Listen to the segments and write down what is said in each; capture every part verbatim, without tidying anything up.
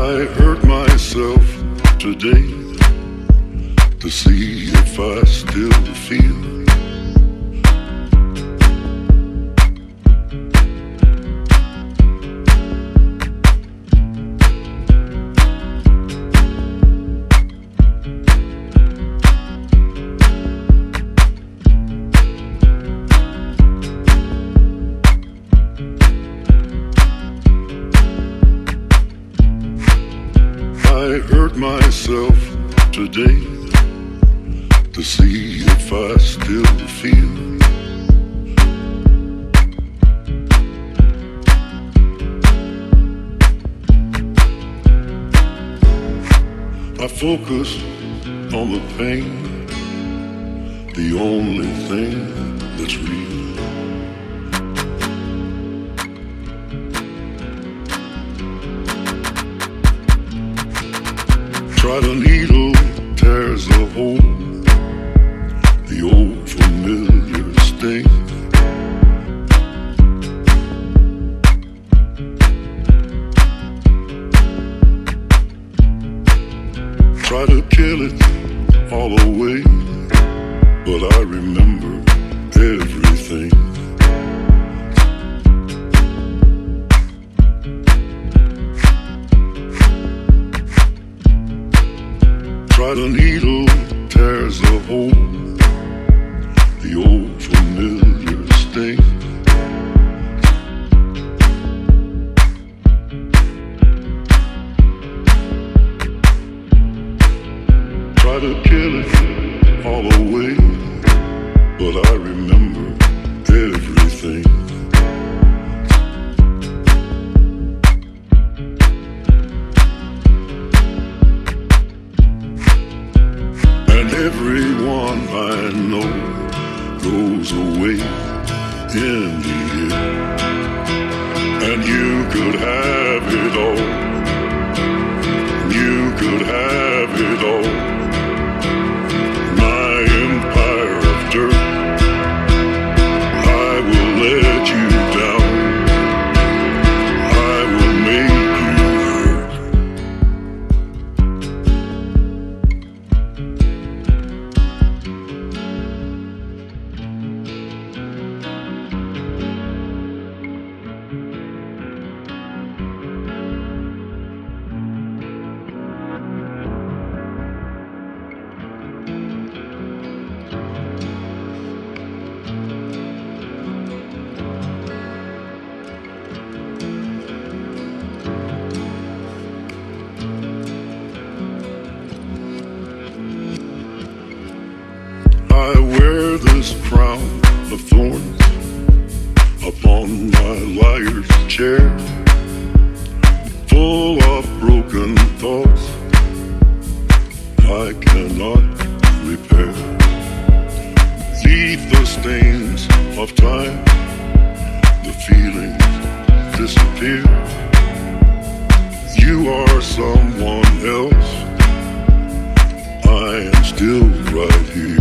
I hurt myself today to see if I still feel. I hurt myself today to see if I still feel. I focus on the pain, the only thing that's real. Try the needle, tears the hole, the old familiar sting. Try to kill it all away, but I remember everything. Try the needle, tears the hole, the old familiar sting. Try to kill it all away, but I remember everything. Everyone I know goes away in the end, and you could have it all. You could have it all. My empire of dirt, I will let you down. I will make you hurt. I wear this crown of thorns upon my liar's chair, full of broken thoughts I cannot repair. Leave the stains of time, the feelings disappear. You are someone else, I am still right here.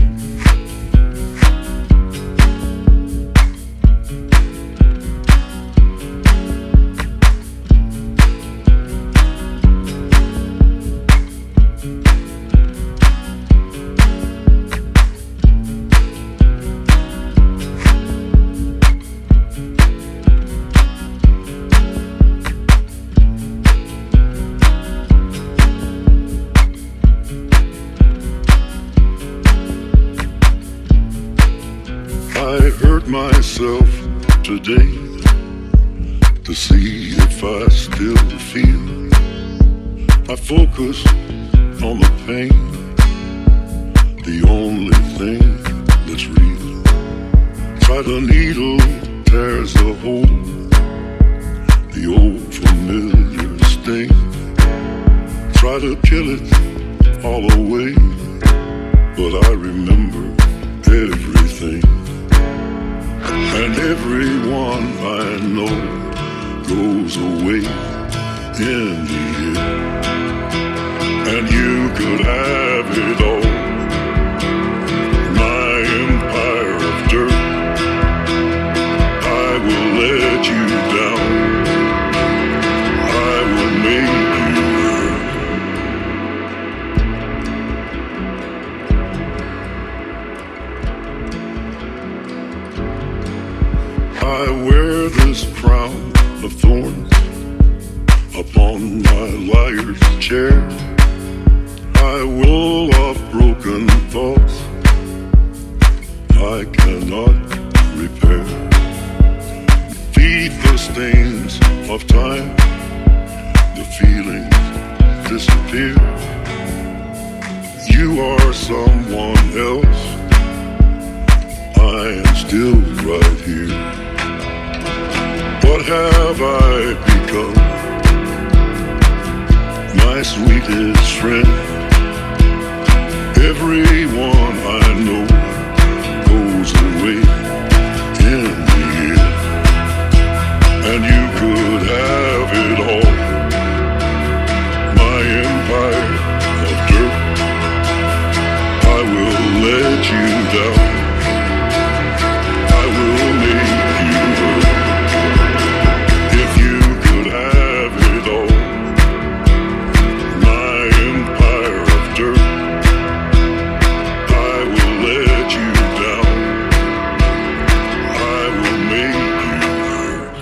I hurt myself today to see if I still feel. I focus on the pain, the only thing that's real. Try the needle, tears the hole, the old familiar sting. Try to kill it all away, but I remember everything. And everyone I know goes away in the end, and you could have it all. My empire of dirt, I will let you down. I will make you of thorns upon my liar's chair. I will of broken thoughts I cannot repair. Feed the stains of time, the feelings disappear. You are someone else, I am still right here. What have I become? My sweetest friend. Everyone I know goes away in the end. And you could have it all. My empire of dirt, I will let you down. I will make you hurt. If you could have it all. My empire of dirt, I will let you down. I will make you hurt.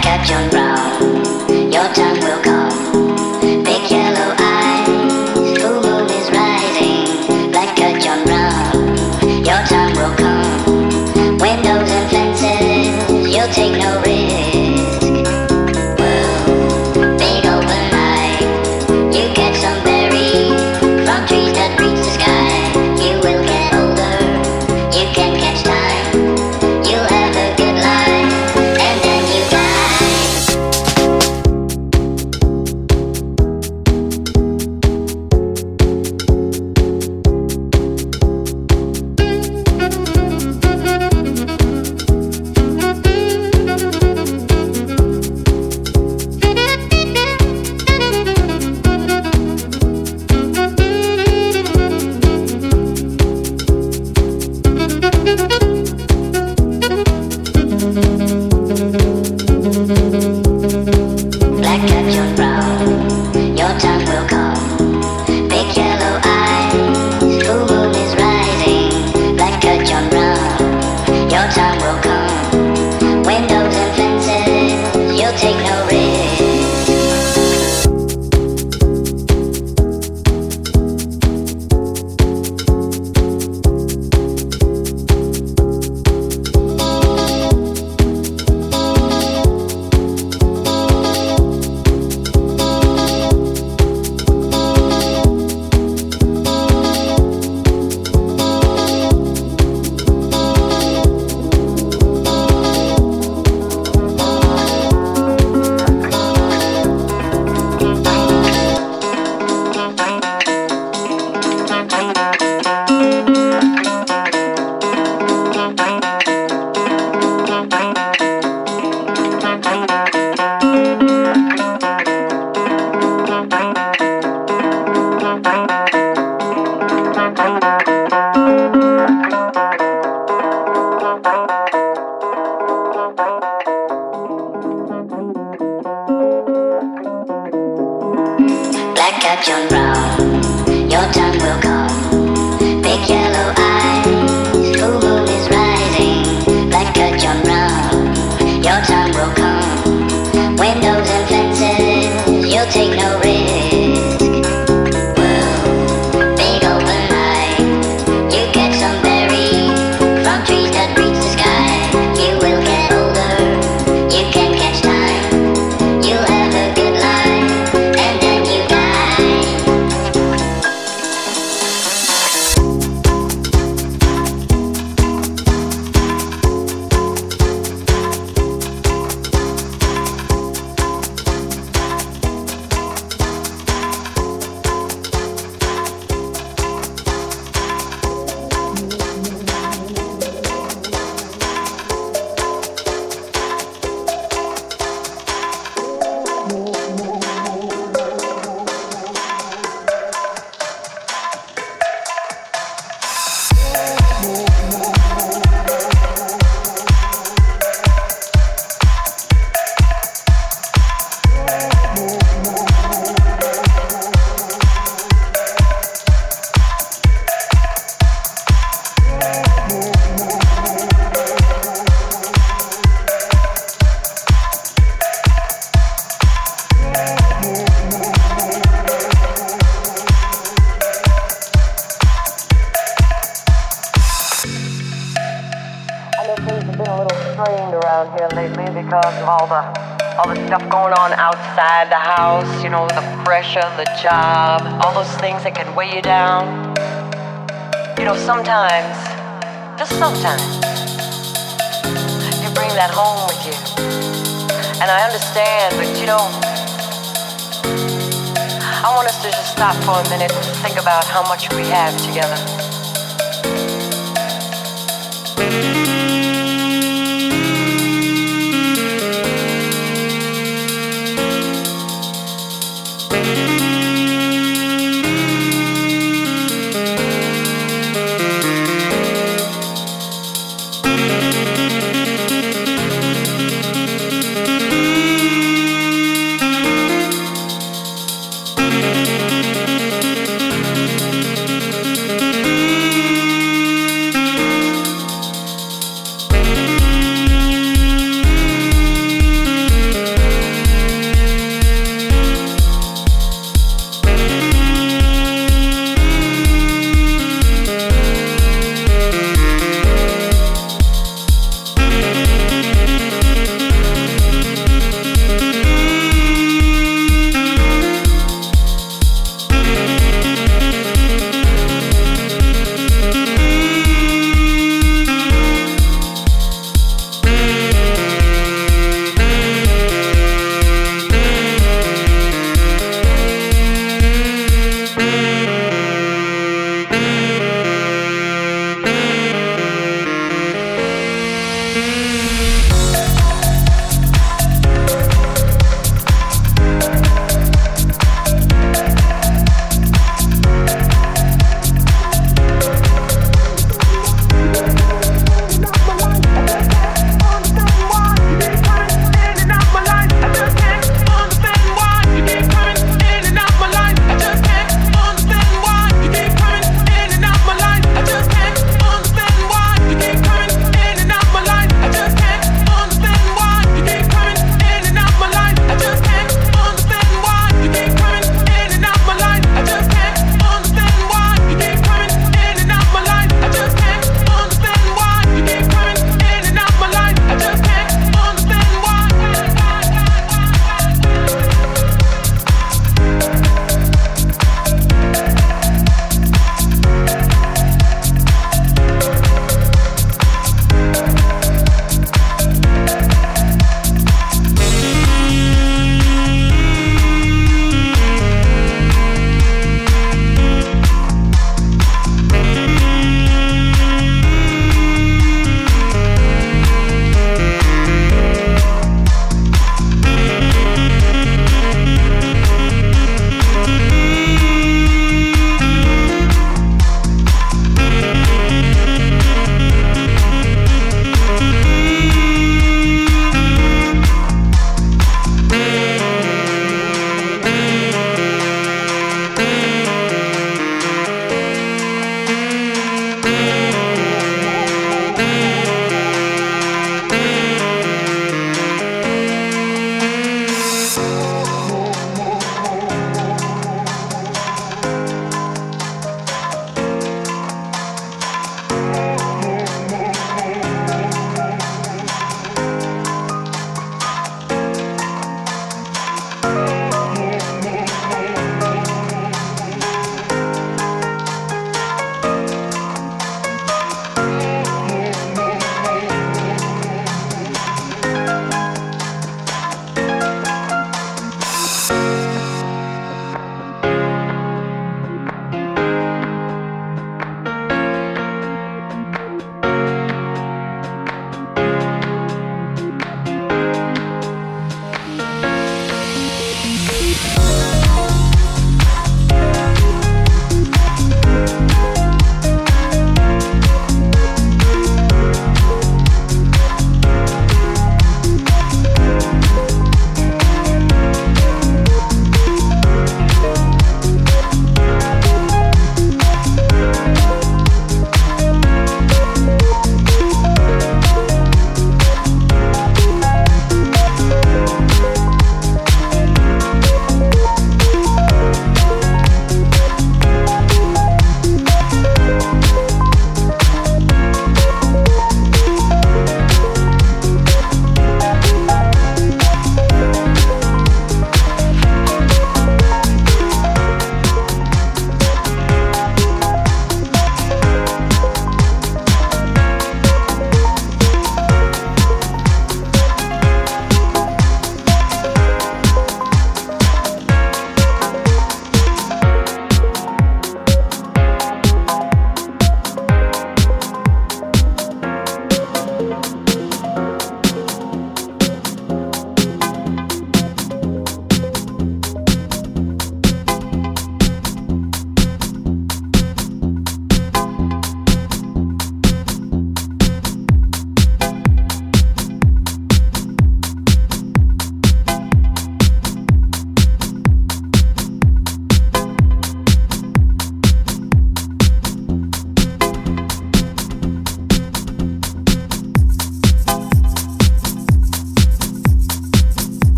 Black John Brown, your time will come. Big yellow eyes, full moon is rising. Black John Brown, your time will come. Windows and fences, you'll take no risk. Well, big open eye, you get some berries from trees that reach the sky. You will get older, you can catch time. You'll have a good life, and then you die. Black John Brown, your time will come. Big yellow eyes, full moon is rising. Black John Brown, your time will come. Windows and fences, you'll take no risk. Black John Brown, your time will come. Big yellow eyes, full moon is rising. Black John Brown, your time will come. Windows and fences, you'll take no risk. Well, big open eye, you get some berries from trees that reach the sky. You will get older, you can catch time. You'll have a good life, and then you die. Around here lately because of all the all the stuff going on outside the house, you know, the pressure, the job, all those things that can weigh you down. You know, sometimes, just sometimes, you bring that home with you. And I understand, but you know, I want us to just stop for a minute and think about how much we have together.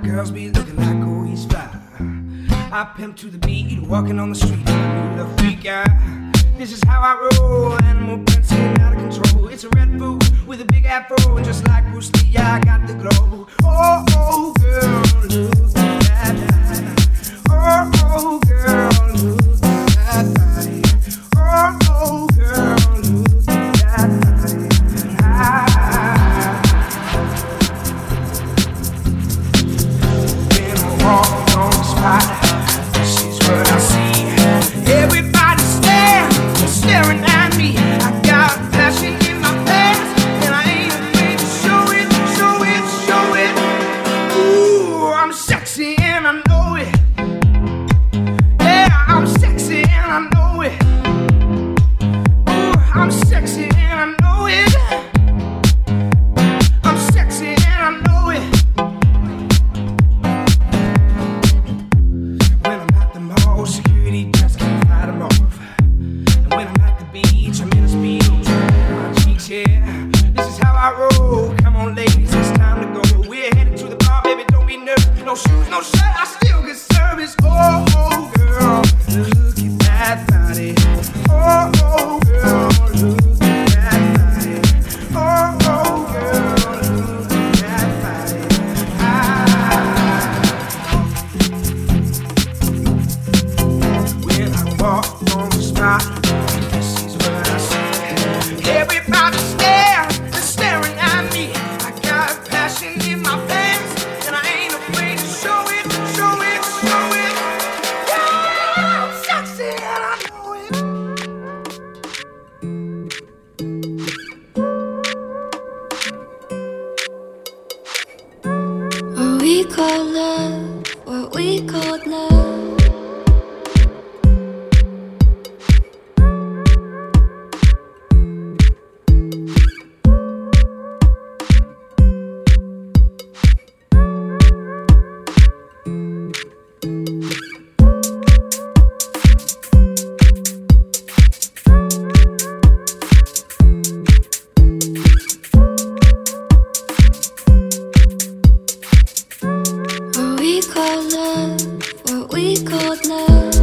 girls be looking like, oh, he's fly. I pimp to the beat, walking on the street, I'm a freak out. This is how I roll, animal prince getting out of control. It's a red bull with a big afro, and just like Bruce Lee, I got the glow. Oh, oh, girl, look at that. Oh, oh, girl, look at that body. Oh, oh, girl, look at that body. I, when I walk on the spot, this is what I see. Everybody stare, staring at me. I got passion in my pants, and I ain't afraid to show it, show it, show it. Ooh, I'm sexy and I know it. Yeah, I'm sexy and I know it. Ooh, I'm sexy and I know it. I'm sexy and I know it. When I'm at the mall, security just can't fight them off. And when I'm at the beach, I'm in a speedo, turning my cheeks, yeah. This is how I roll. Come on, ladies, it's time to go. We're headed to the bar, baby, don't be nervous. No shoes, no shirt, I still get service. Oh, oh, girl, look at that body. Oh, oh, girl, look at that body. Oh, oh, girl, look at that body. I, when I walk on the spot, this is what I see. Everybody stare, they're staring at me. I got passion in my pants, and I ain't afraid to show it, show it, show it. Yeah, I'm sexy and I know it. What we call love, what we call love. What we call love, what we call love.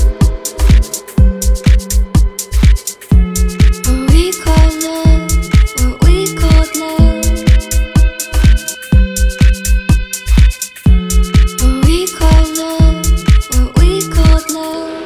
What we call love, what we call love. What we call love, what we call love.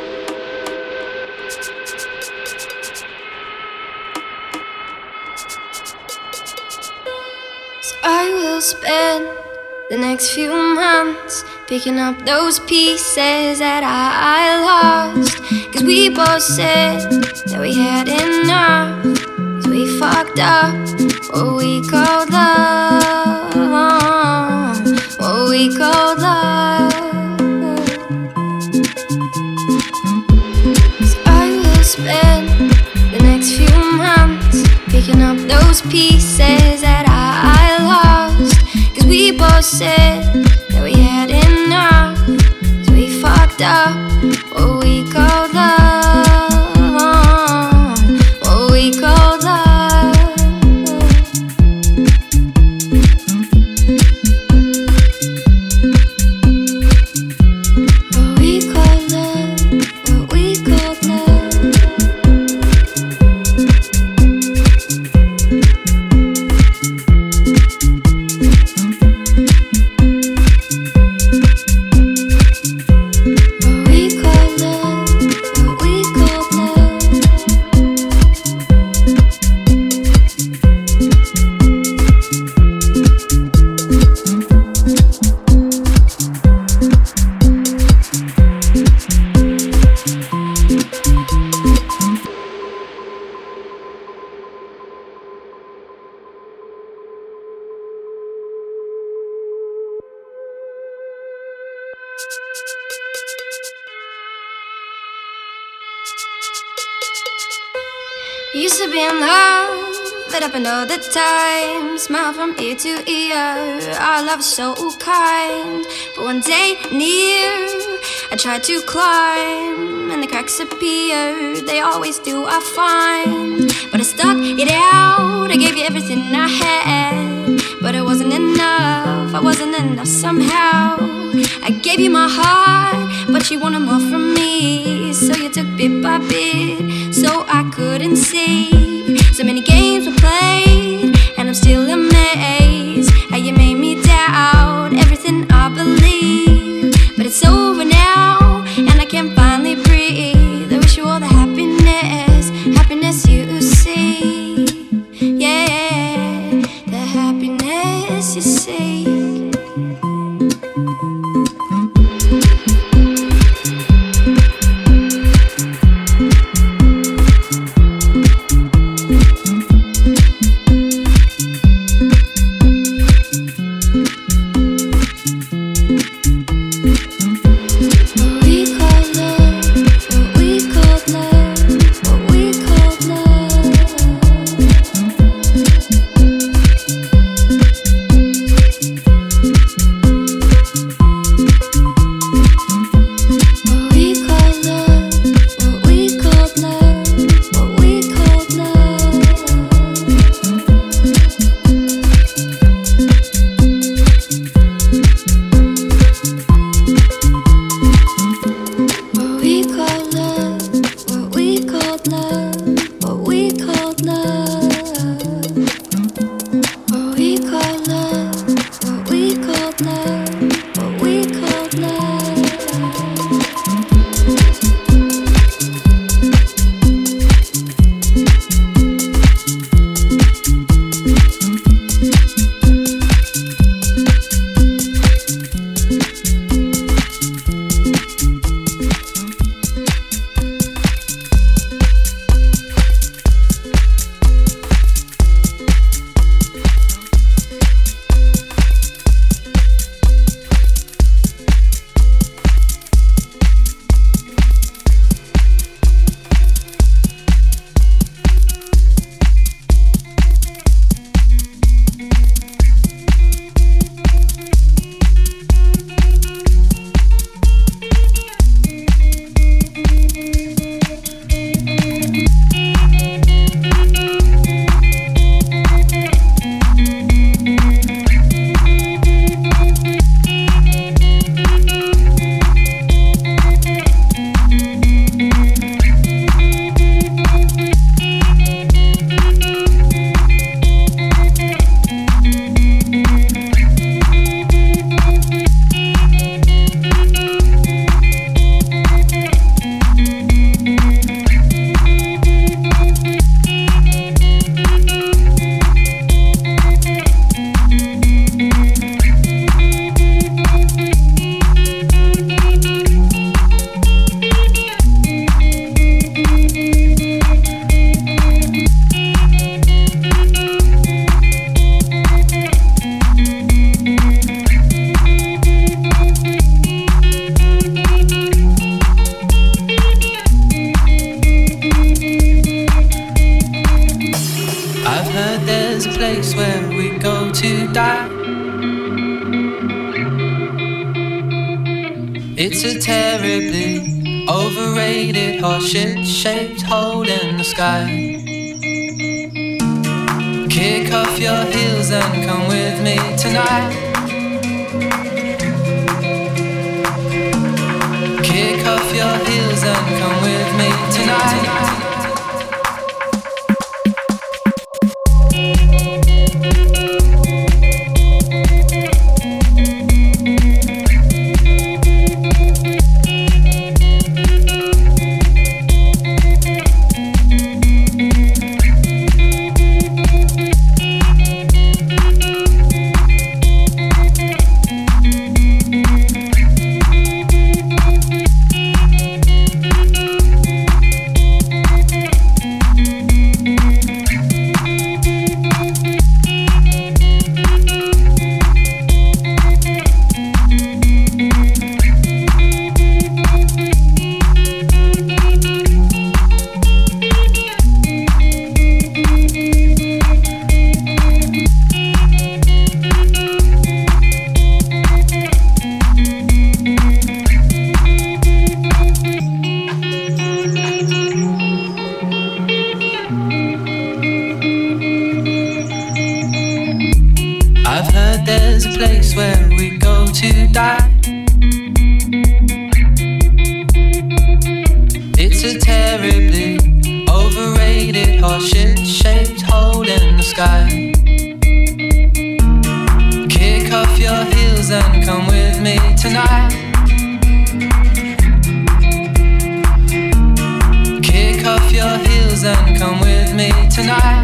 So I will spend the next few months picking up those pieces that I, I lost. Cause we both said that we had enough. Cause we fucked up what we called love. What we called love. So I will spend the next few months picking up those pieces that I, I lost. Cause we both said that we had enough. So we fucked up what we called love. What we called love. What we called love, what we called love. What we call love, what we call love. Used to be in love, lit up and all the time. Smile from ear to ear, our love is so kind. But one day near, I tried to climb, and the cracks appeared. They always do, I find. But I stuck it out, I gave you everything I had. But it wasn't enough, I wasn't enough somehow. I gave you my heart, but you wanted more from me. So you took bit by bit, so I couldn't see. So many games were played, and I'm still amazed how you made me doubt everything I believe. But it's over now, and I can finally breathe. I wish you all the happiness, happiness you see. Yeah, the happiness you see. It's a terribly overrated horseshit-shaped hole in the sky. Kick off your heels and come with me tonight. Kick off your heels and come with me tonight. place where we go to die. It's a terribly overrated heart-shaped hole in the sky. Kick off your heels and come with me tonight. Kick off your heels and come with me tonight.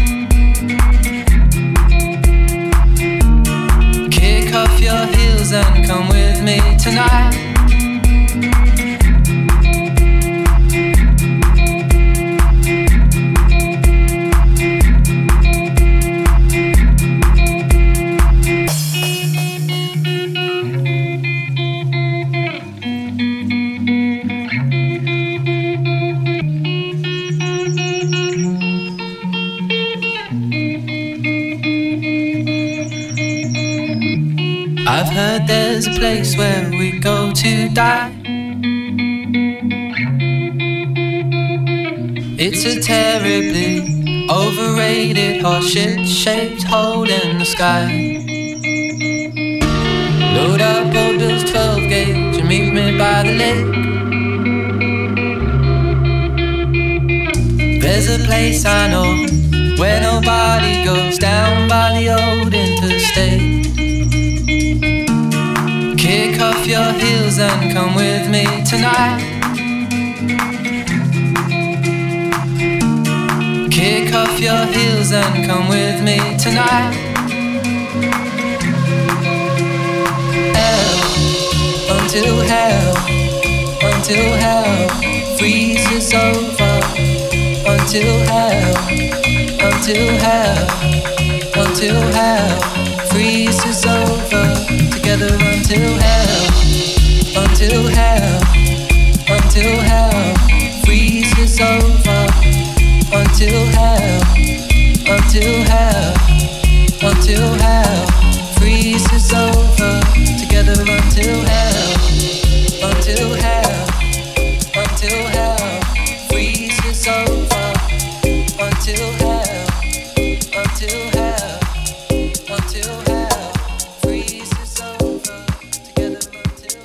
Kick off your heels and come with me tonight. I've heard there's a place where we go to die. It's a terribly overrated heart-shaped hole in the sky. Load up old Bill's twelve gauge and meet me by the lake. There's a place I know where nobody goes, down by the old interstate. Kick off your heels and come with me tonight. Kick off your heels and come with me tonight. Hell, until hell, until hell freezes over. Until hell, until hell, until hell freezes over. Together until hell, until hell, until hell freezes over. Until hell, until hell, until hell freezes over. Together until hell, until hell, until hell freezes over. Until hell, until hell, until hell freezes over. Together until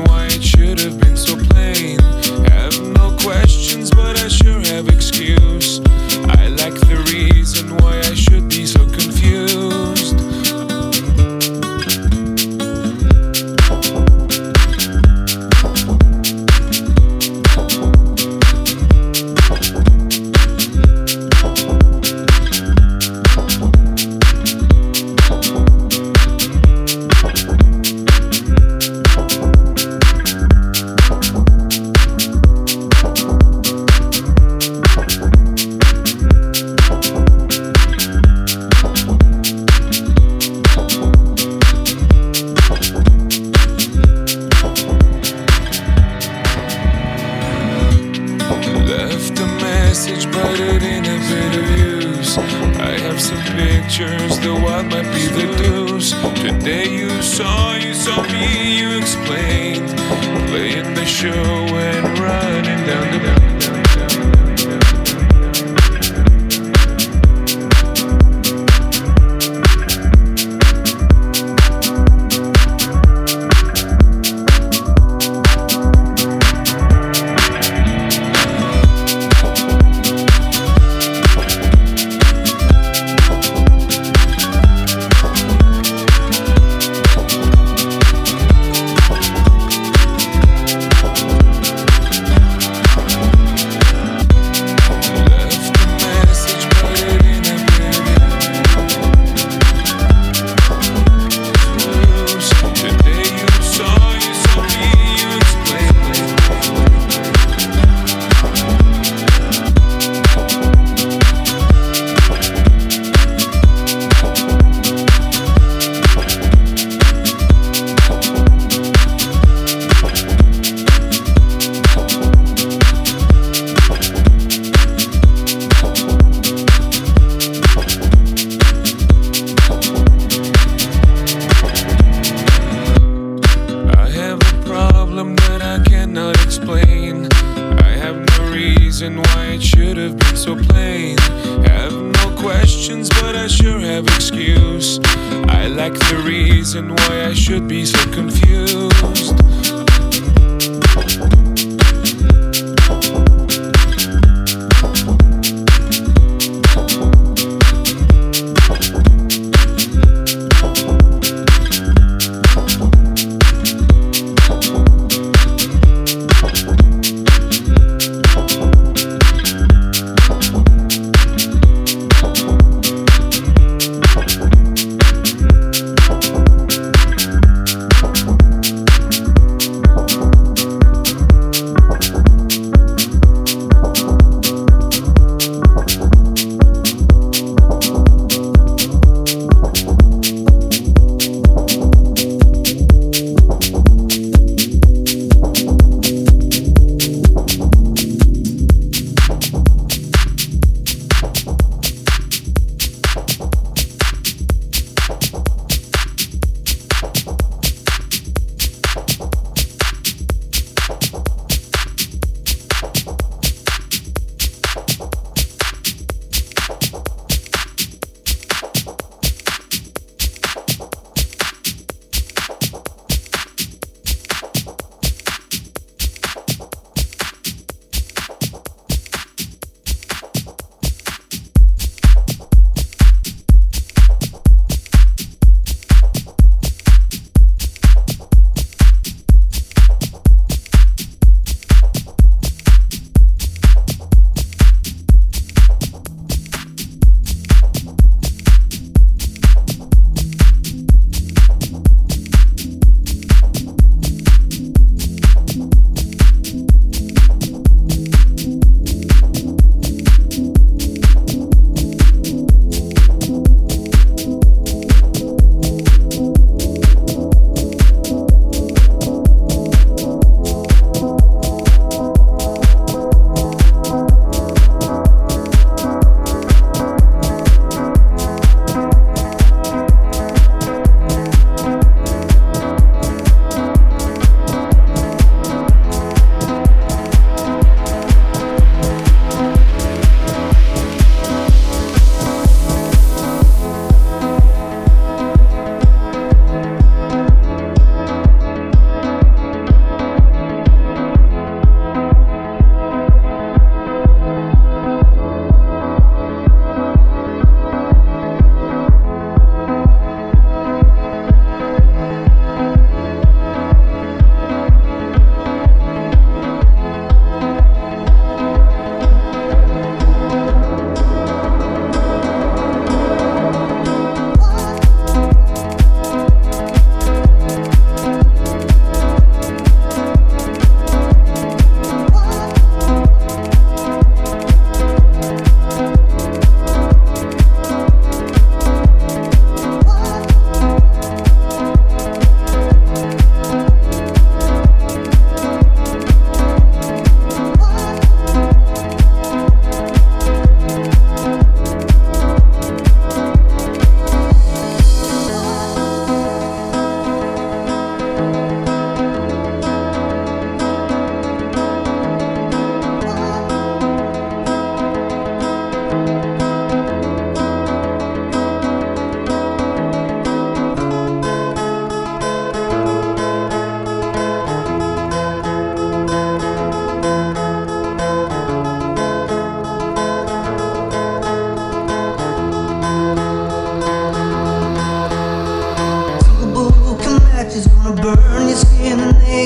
why it should have been so plain. Have no questions, but I sure have excuse. I lack the reason why I should be so confused. The what might be the deuce. Today you saw, you saw me, you explained. Playing the show and running down the mountain.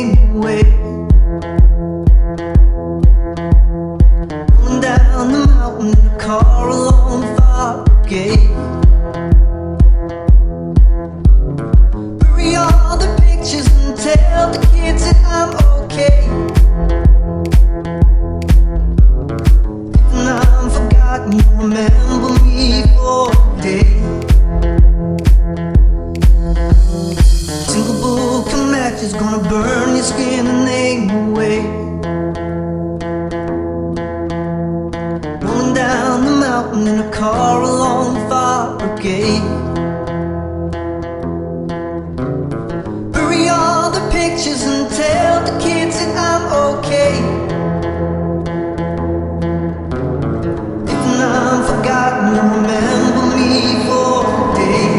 name away. Rolling down the mountain in a car along the fire gate. Bury all the pictures and tell the kids that I'm okay. If I'm forgotten, you'll remember me for a day. Single book of matches gonna burn your skin and name away. Rolling down the mountain in a car along the fire brigade. Bury all the pictures and tell the kids that I'm okay. If I'm forgotten, you'll remember me for a day.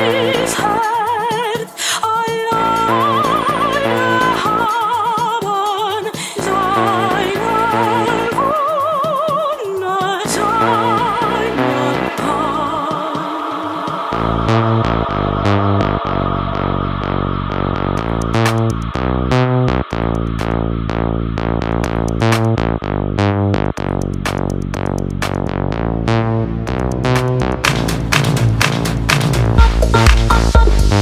Up, up, up, up.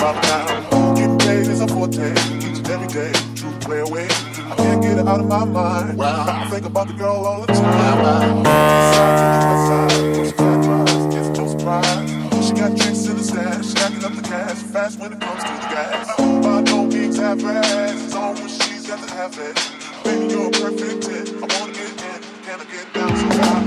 about now. Getting paid is a forte, each and every day. True play away. I can't get it out of my mind. Wow. I think about the girl all the time. Side to the west side, those flat drives, it's no surprise. She got tricks in the stash, stacking up the cash, fast when it comes to the gas. By no means half-ass, it's on when she's got to have it. Baby, you're a perfect fit. I wanna get in, can I get down so high?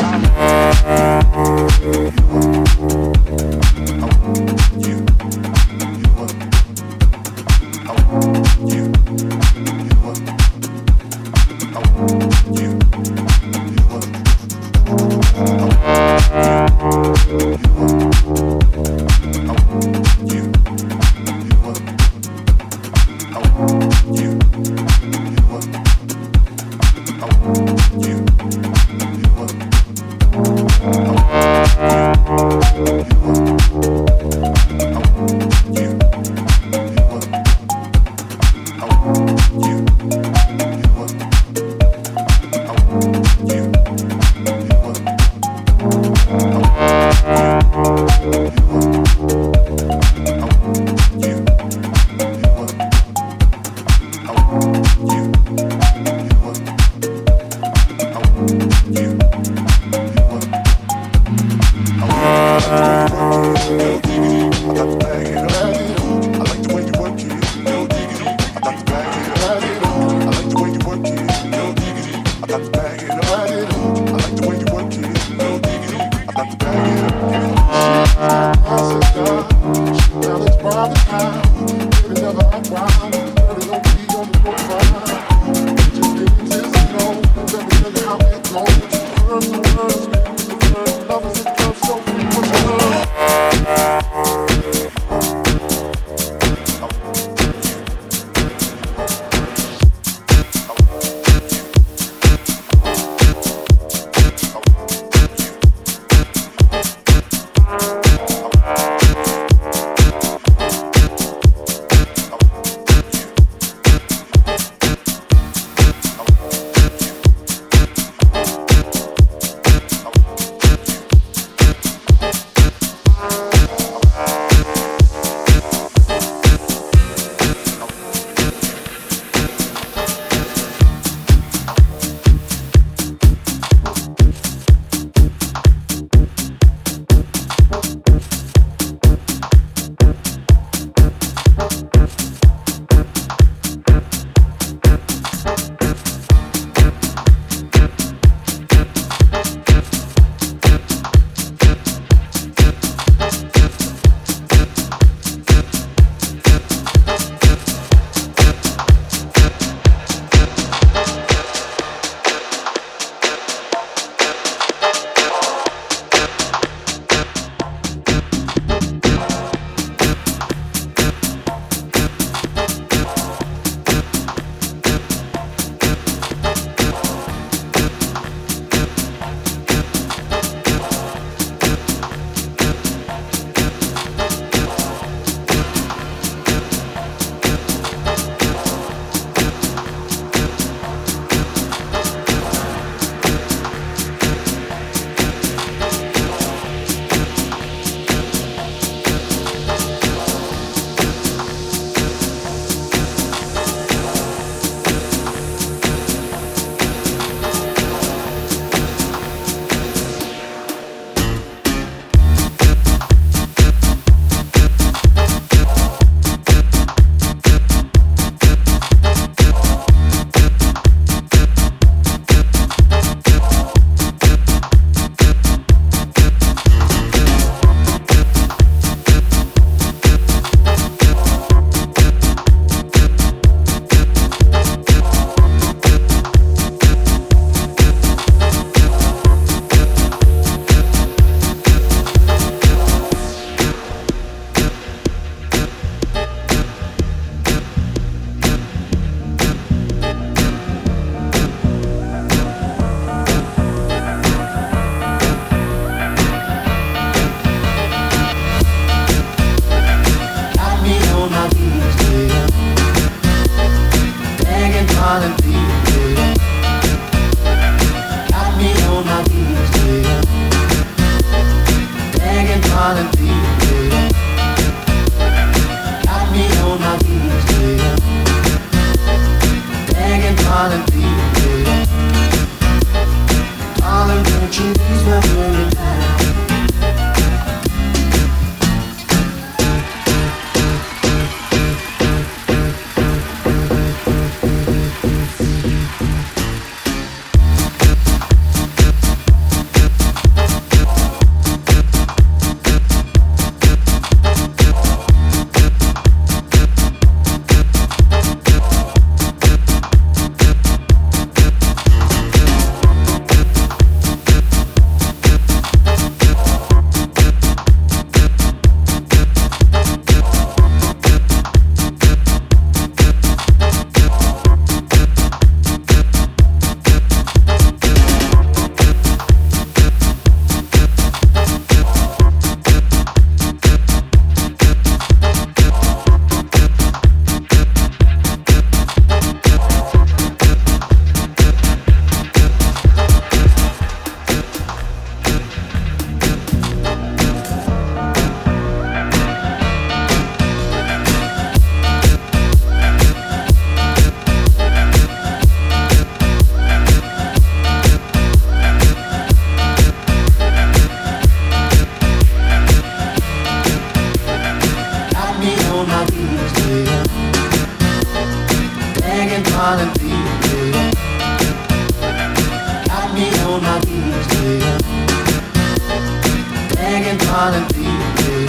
darling, baby.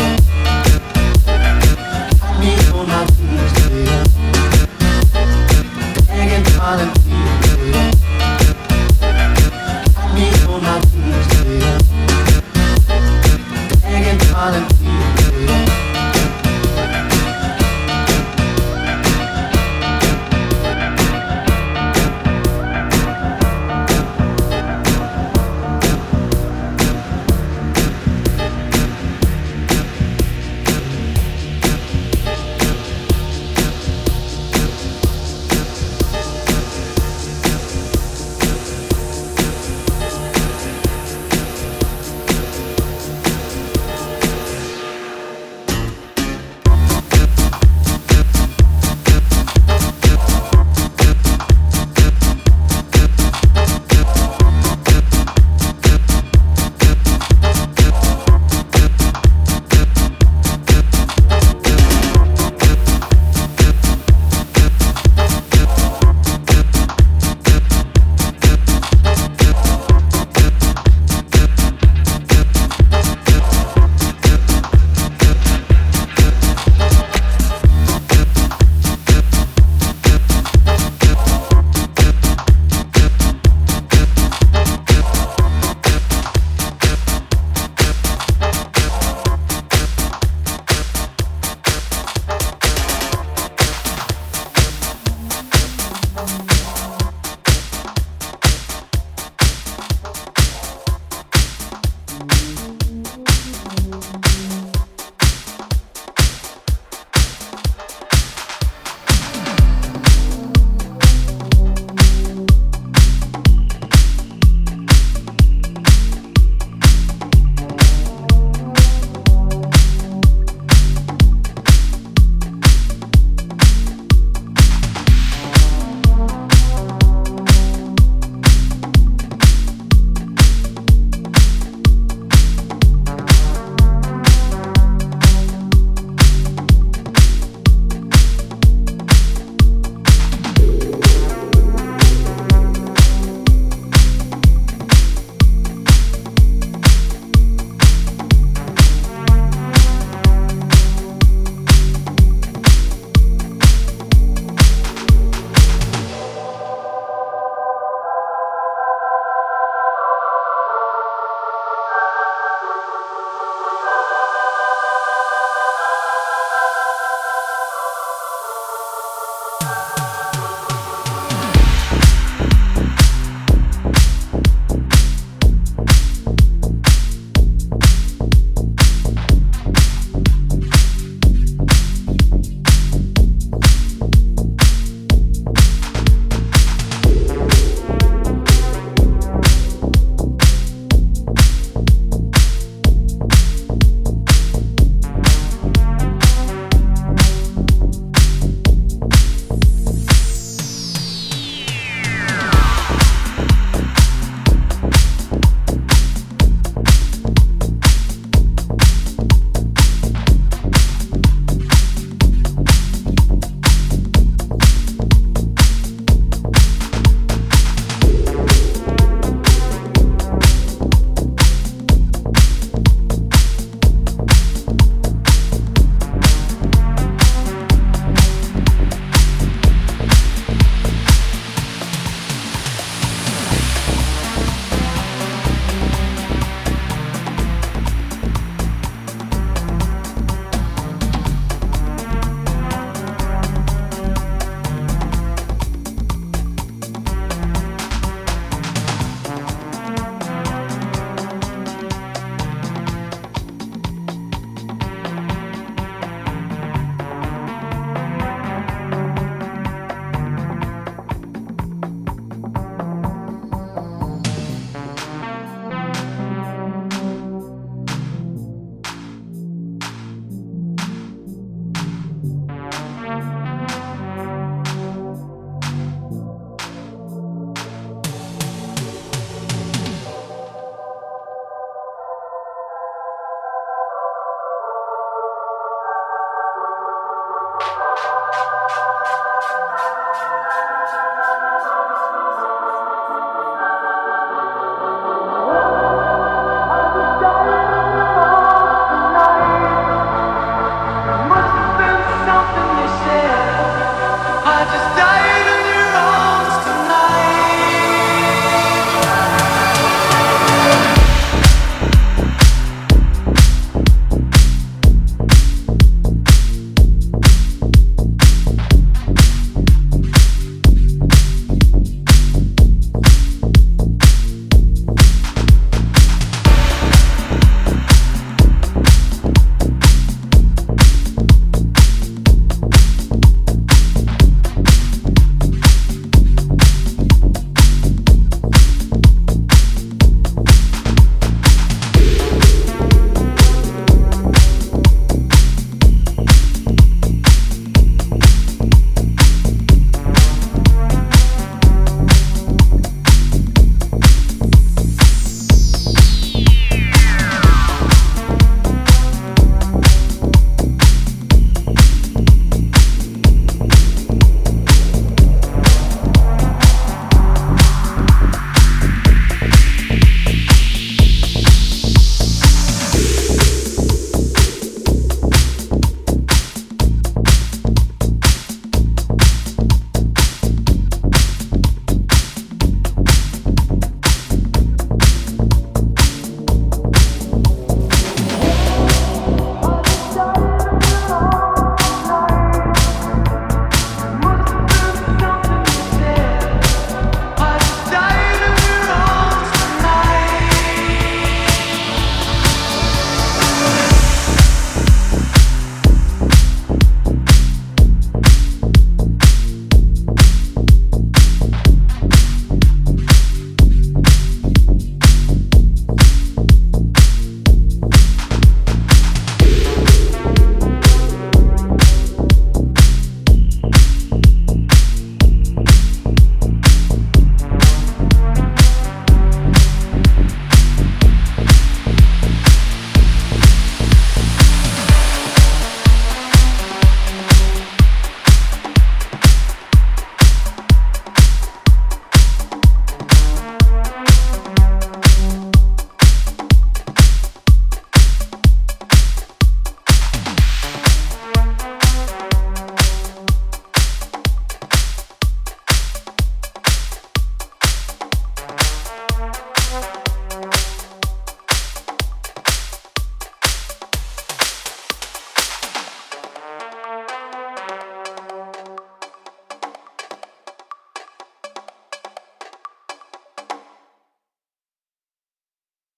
Got me on my knees, baby. Begging, darling, baby. Got me on my knees, baby. Begging, darling, baby.